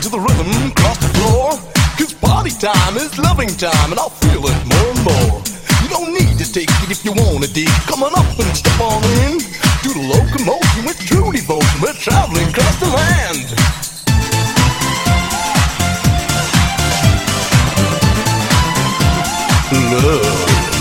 to the rhythm, cross the floor. 'Cause party time is loving time, and I'll feel it more and more. You don't need to take it if you wanna dig. Come on up and step on in. Do the locomotion with true devotion. We're traveling across the land. Love.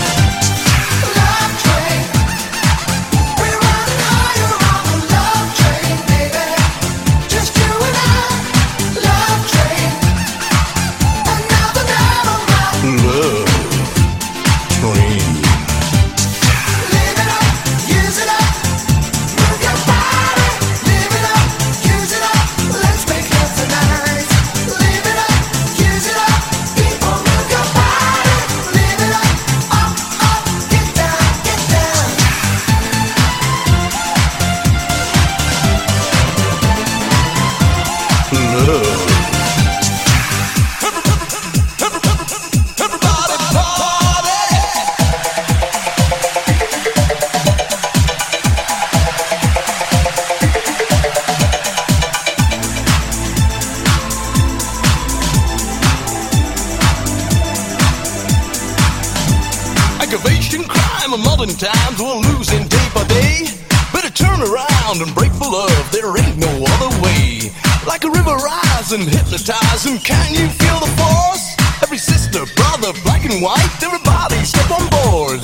Times we're losing day by day. Better turn around and break for love. There ain't no other way. Like a river rise and hypnotize. And can you feel the force? Every sister, brother, black and white, everybody step on board.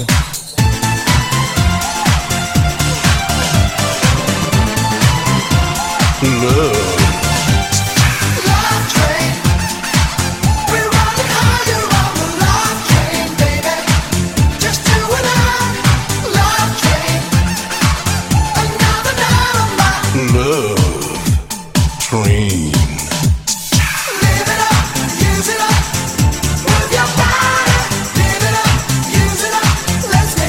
Love. Let's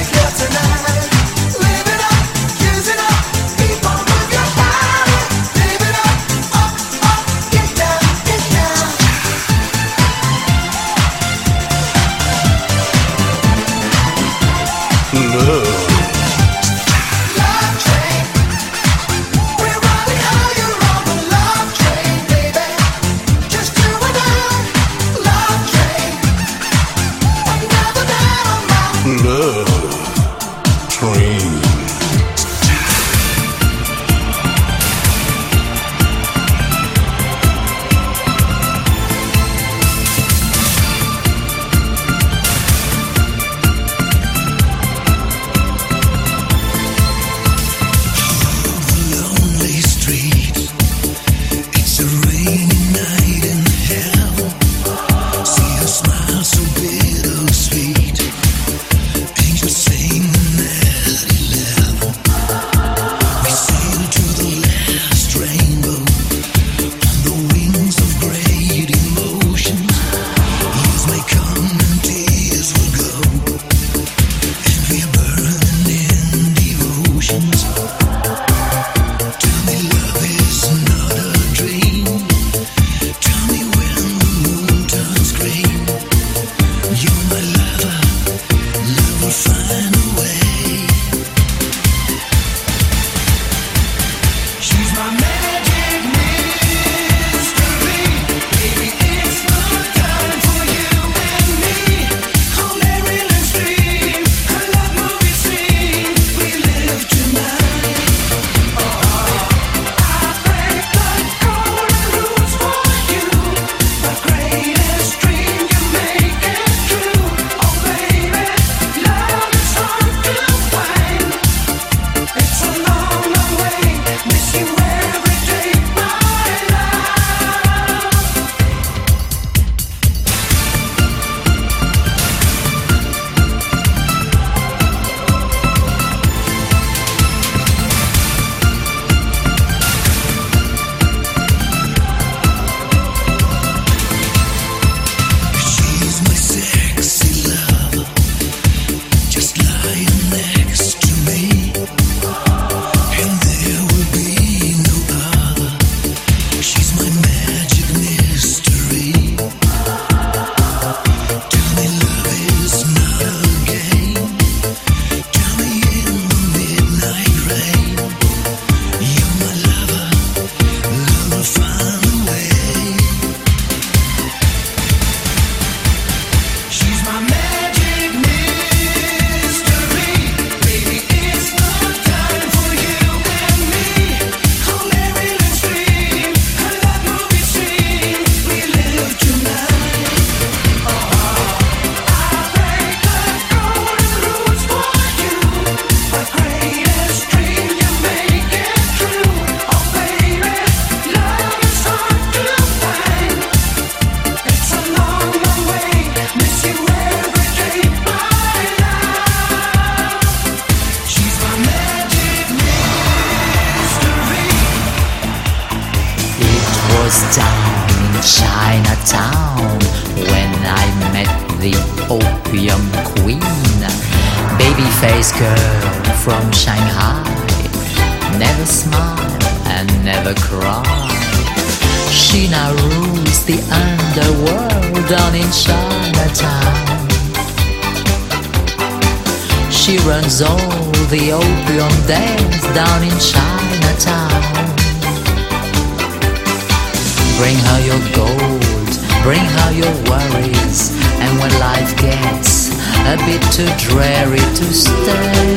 Chinatown when I met the Opium Queen, baby-faced girl from Shanghai, never smile and never cry. She now rules the underworld down in Chinatown. She runs all the opium dens down in Chinatown. Bring her your gold, bring her your worries, and when life gets a bit too dreary to stay,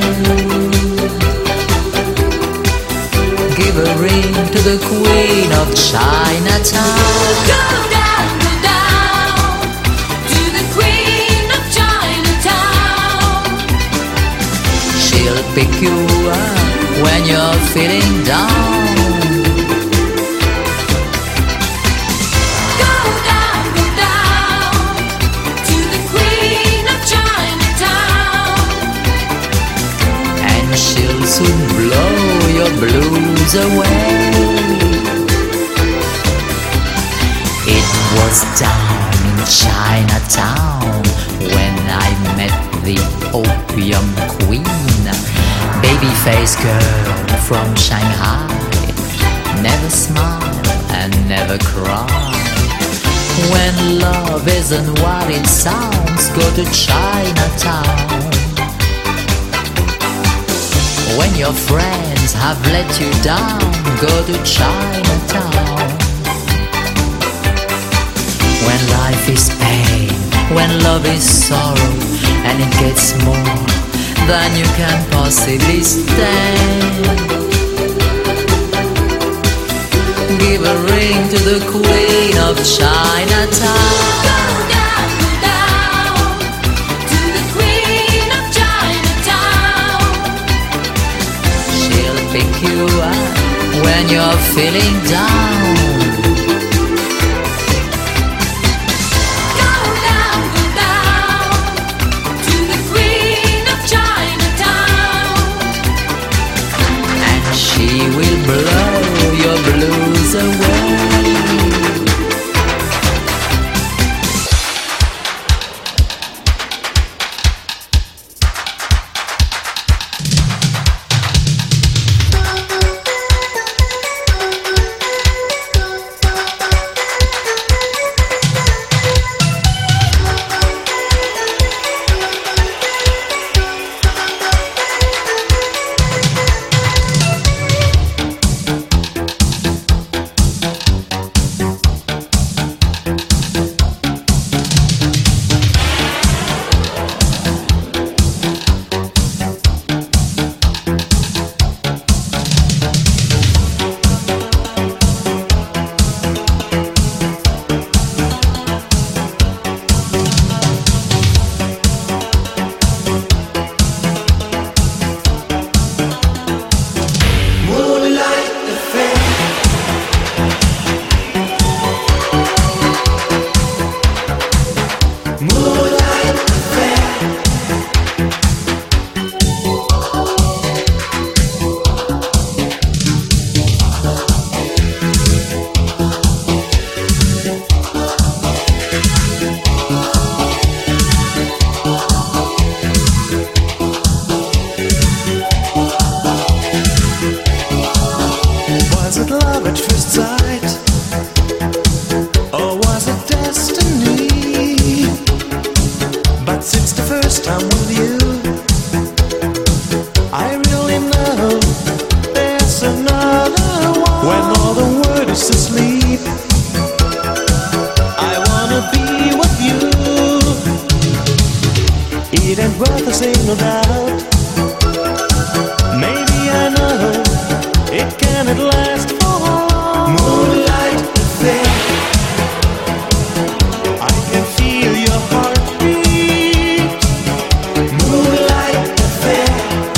give a ring to the Queen of Chinatown. Go down to the Queen of Chinatown. She'll pick you up when you're feeling down. Go down to the Queen of Chinatown. And she'll soon blow your blues away. It was down in Chinatown when I met the Opium Queen, baby-faced girl from Shanghai, never smile and never cry. When love isn't what it sounds, go to Chinatown. When your friends have let you down, go to Chinatown. When life is pain, when love is sorrow, and it gets more than you can possibly stand, give a ring to the Queen of Chinatown. Go down to the Queen of Chinatown. She'll pick you up when you're feeling down. Go down to the Queen of Chinatown. And she will blow your blues away. Was it love at first sight? Or was it destiny? But since the first time with you, I really know there's another one. When all the world is asleep, I wanna be with you. It ain't worth a single doubt. Maybe I know it cannot last for long. Moonlight affair, I can feel your heartbeat. Moonlight affair,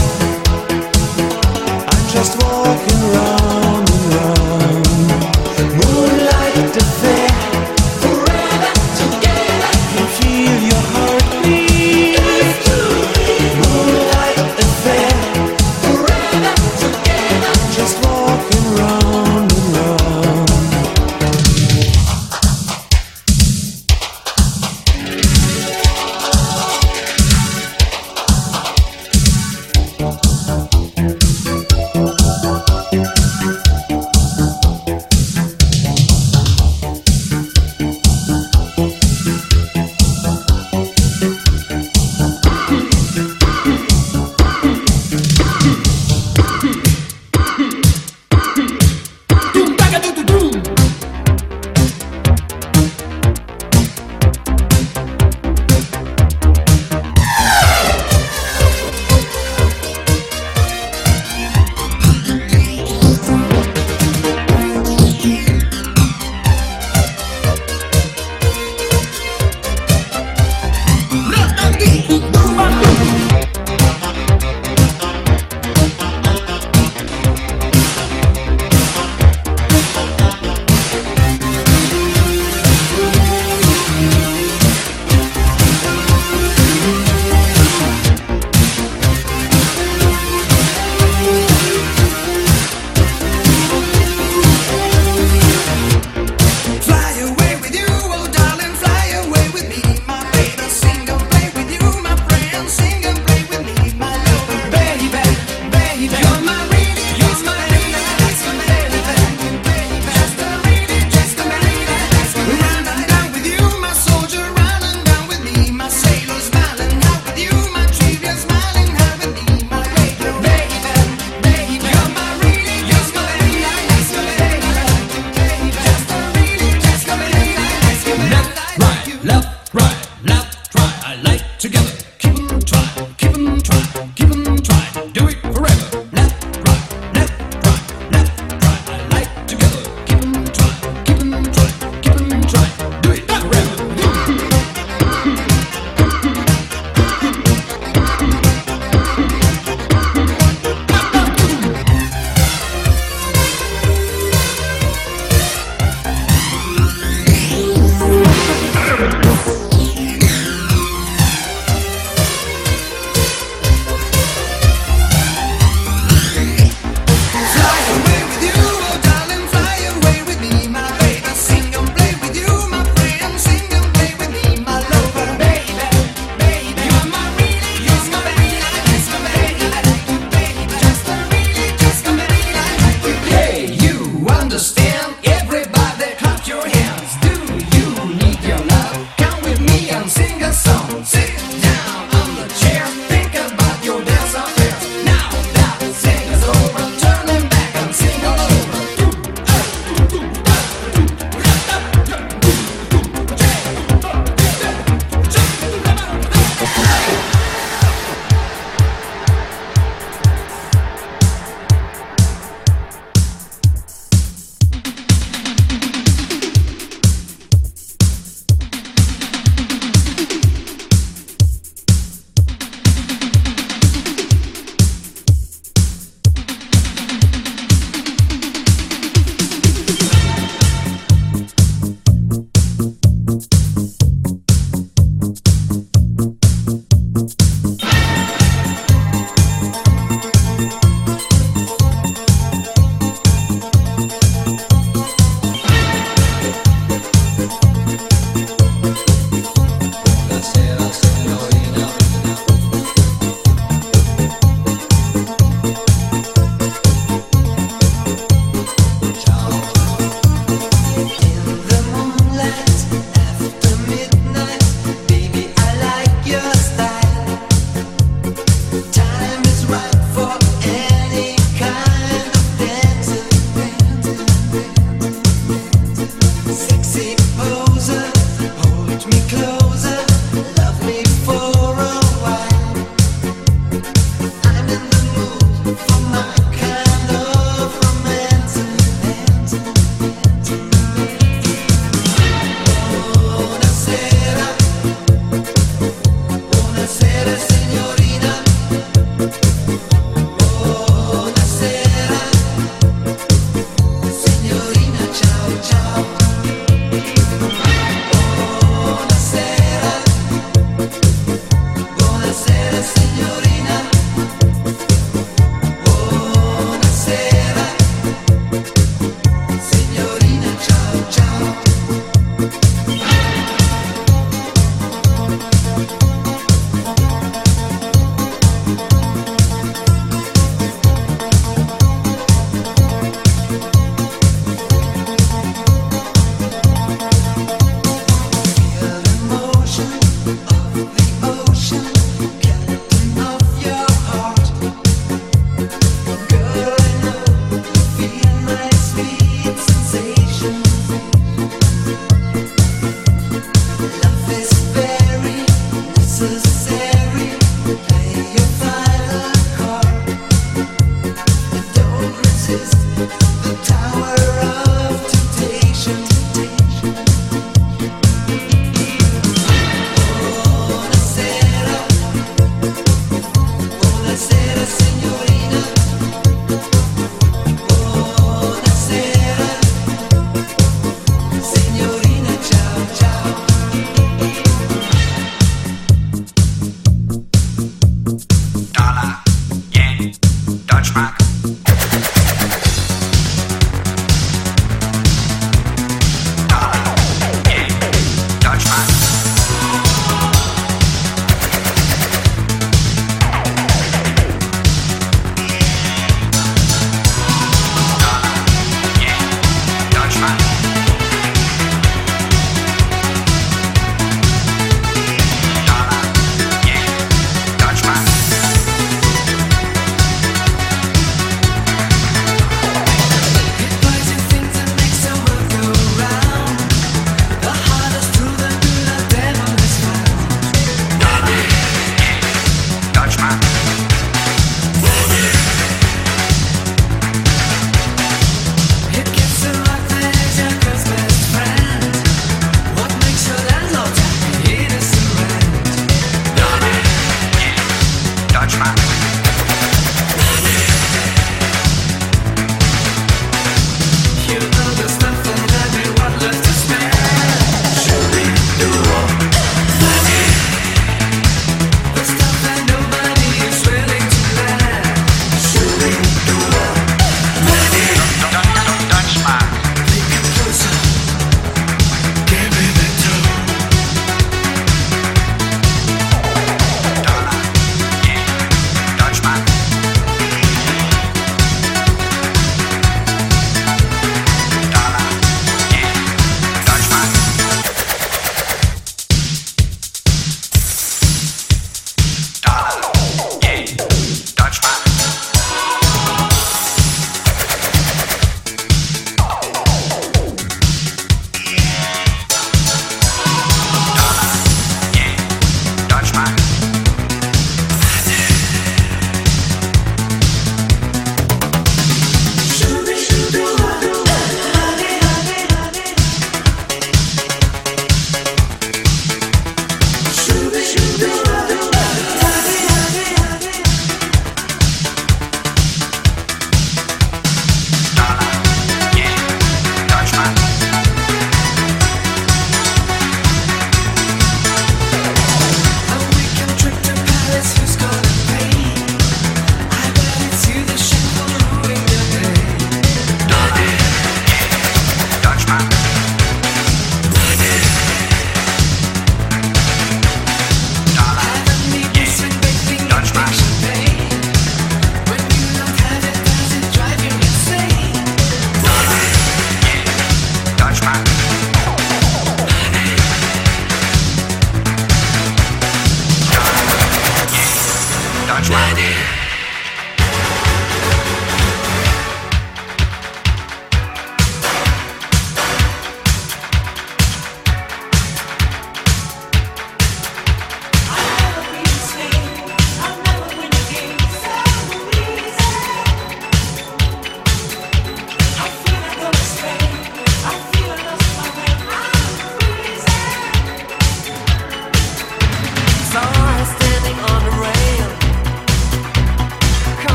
I'm just walking round and round. Moonlight affair, forever together. I can feel your heartbeat. Moonlight affair, forever together. I'm just walking round.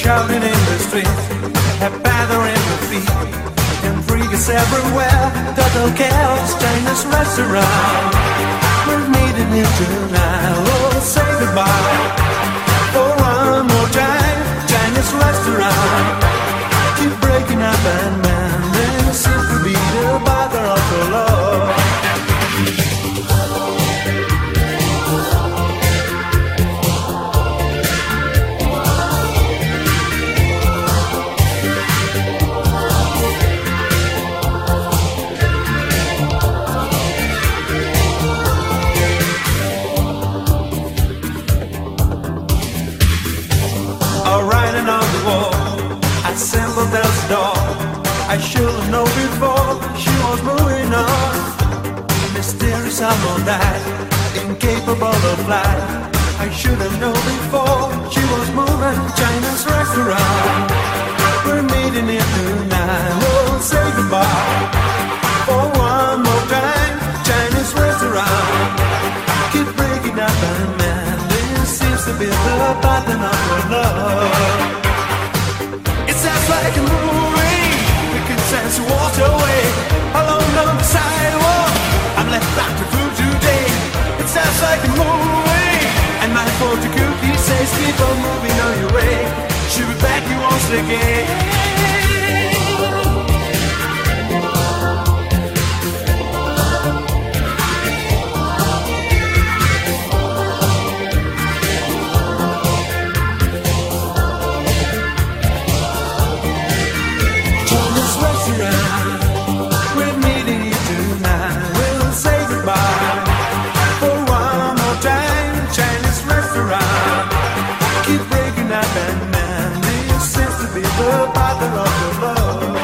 shouting in the street, have batter in the feet, and freaks everywhere. Total chaos, Chinese restaurant. We're meeting here tonight. Oh, say goodbye for one more time. Chinese restaurant. Keep breaking up and mending. Seems to be the bother of the love. Assembled there's a door. I should have known before she was moving on. Mysterious someone died, incapable of flight. I should have known before she was moving. China's restaurant. We're meeting here tonight. We'll say goodbye for one more time. Chinese restaurant. Keep breaking up and man. This seems to be the pattern of your love. Sounds like a movie. We can sense walk away alone on the sidewalk. I'm left out of food today. It sounds like a movie. And my fortune cookie says keep on moving on your way. She'll be back you once again. We're meeting you tonight. We'll say goodbye for one more time. Chinese restaurant. Keep breaking up and man. This seems to be the pattern of your love.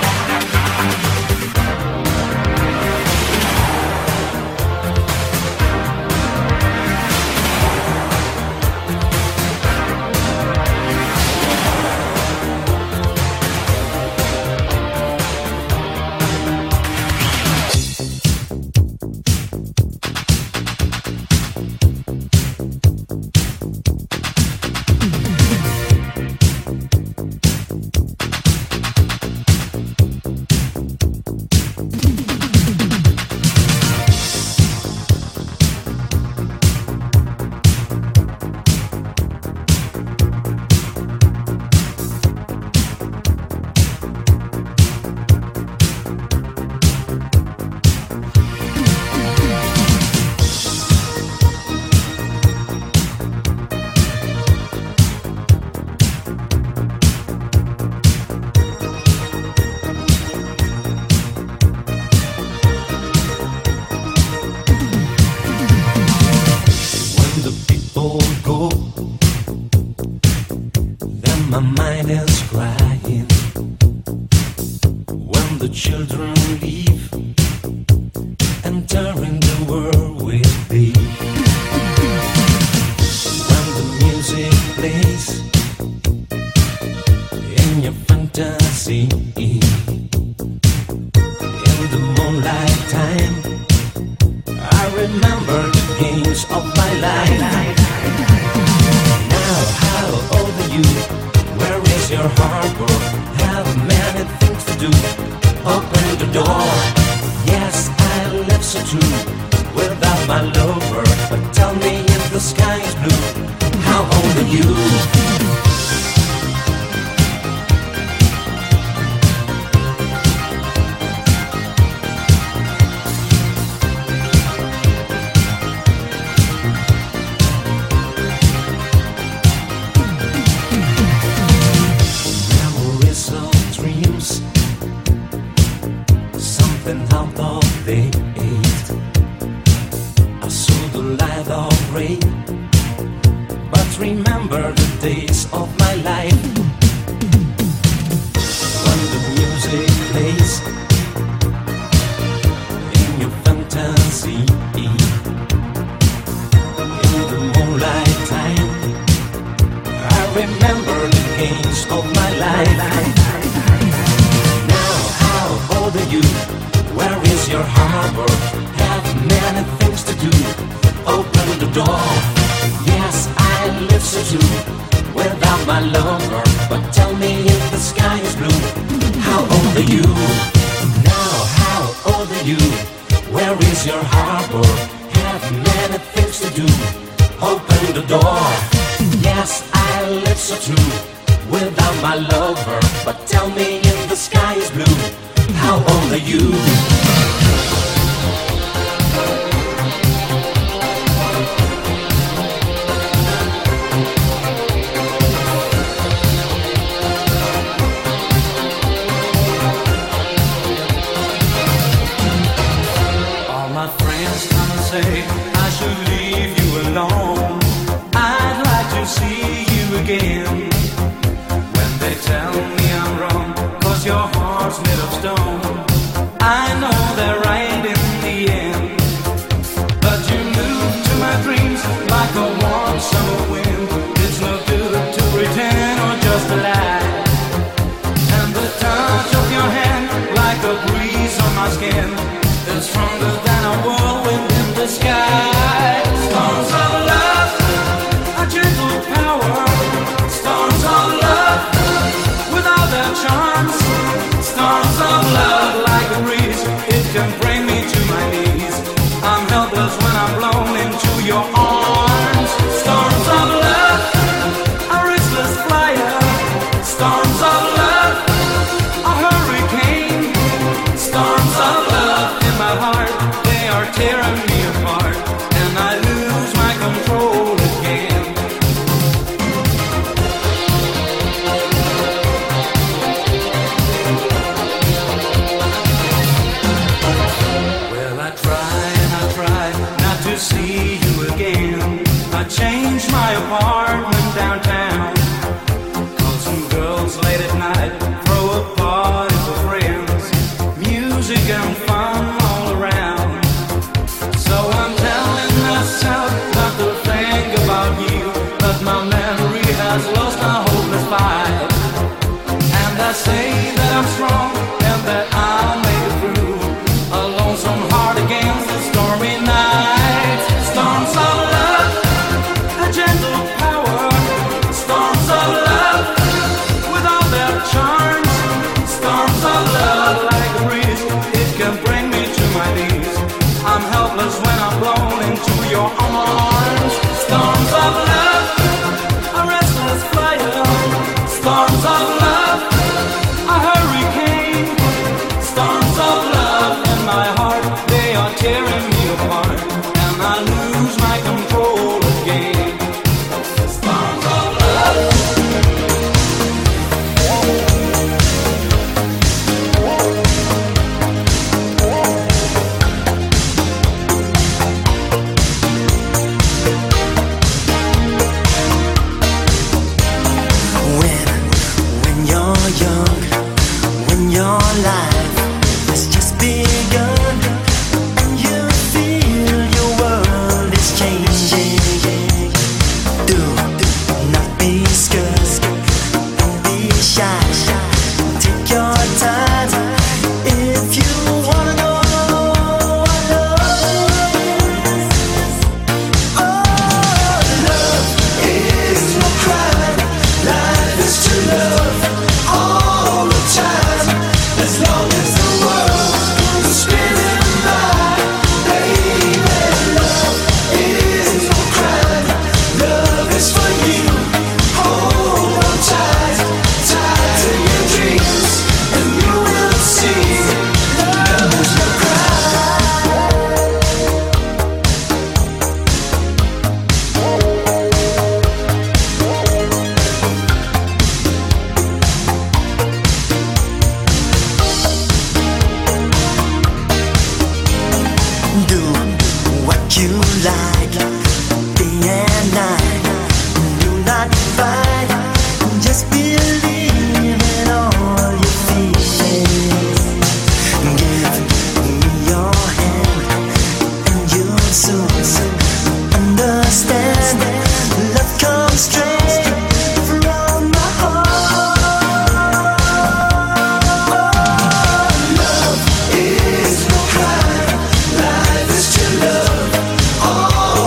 door. Yes, I live so too without my lover. But tell you. Now how old are you? Where is your harbor? Have many things to do. Open the door. Yes, I live so true without my lover. But tell me if the sky is blue, how old are you? Say I should leave you alone. I'd like to see you again. When they tell me I'm wrong, 'cause your heart's made of stone, I know they're right in the end. But you move to my dreams like a warm summer wind. It's no good to pretend or just to lie. And the touch of your hand, like a breeze on my skin, is stronger than a whirlwind in the sky. Storms of love, a gentle power. Storms of love, without their charms. Storms of love, like a breeze, it can bring me to my knees. I'm helpless when I'm blown into your arms. Storms of love, a restless flyer. Storms of love, a hurricane. Storms of love in my heart, they are tearing me apart, and I lose my control again. Well, I try and I try not to see you again. I changed my apartment downtown, 'cause some girls late at night throw a party for friends. Music and fun all around. So I'm telling myself not to think about you, but my memory has lost a hopeless fight. And I say that I'm strong and that I'll make it through a lonesome heart against the stormy night. Storms of love, a gentle power. Storms of love, without their charms. Storms of love, like a breeze, it can bring me to my knees. I'm helpless when I'm blown into your arms. Storms of love, a restless flyer. Storms of love, a hurricane. Storms of love in my heart, they are tearing me apart, and I lose my control again. Storms of love. When you're young, when your life has just begun, and you feel your world is changing, do not be scared, don't be shy, take your time. If you wanna know what love is, oh, love is no crime. Life is to love all the time, as long as the world is spinning by. Baby, love is no crime. Love is for you. Hold on tight, tight to your dreams, and you will see love is no do what you like, day and night. Do not fight, just believe in all your feelings. Give me your hand, and you'll soon understand. Love comes straight from my heart. Love is no crime. Life is to love all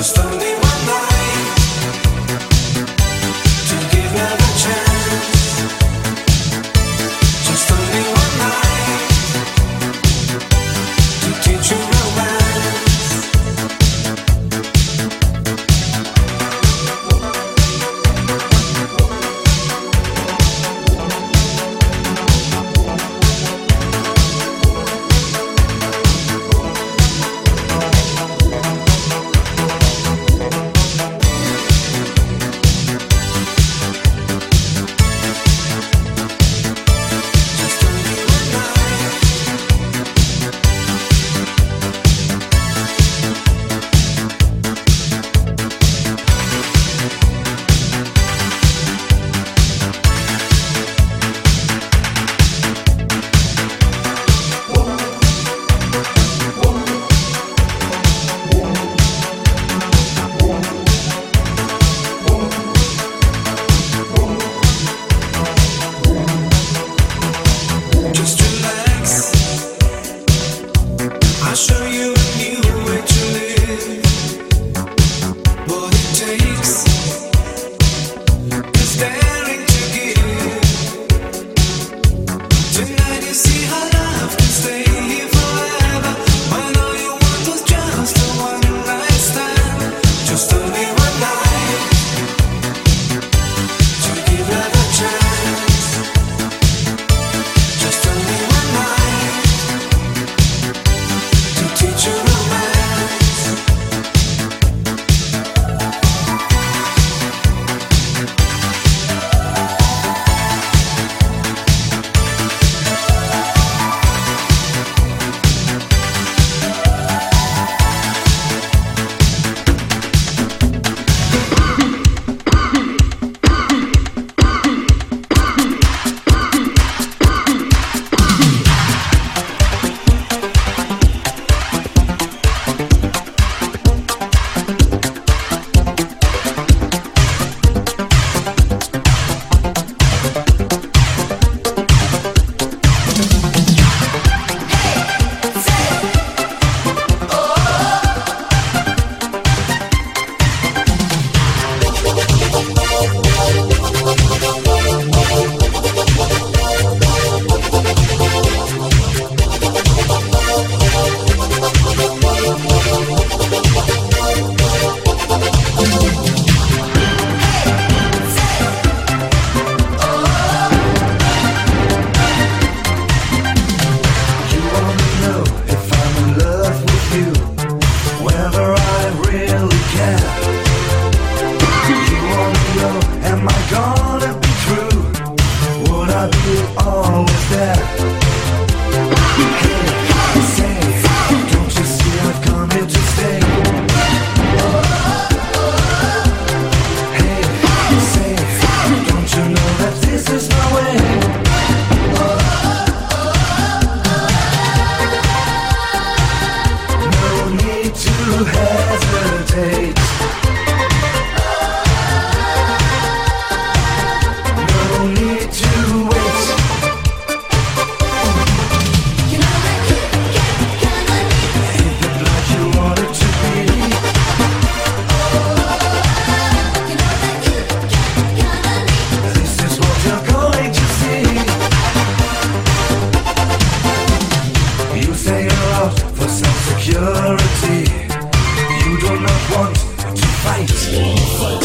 security. You do not want to fight.